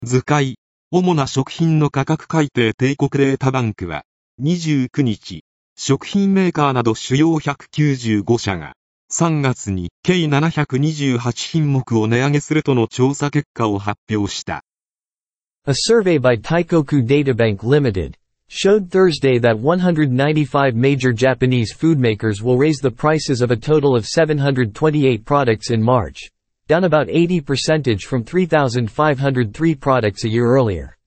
図解、主な食品の価格改定帝国データバンクは、29日、食品メーカーなど主要195社が、3月に計728品目を値上げするとの調査結果を発表した。 A survey by Taikoku Databank Limited showed Thursday that 195 major Japanese food makers will raise the prices of a total of 728 products in March, down about 80% from 3,503 products a year earlier.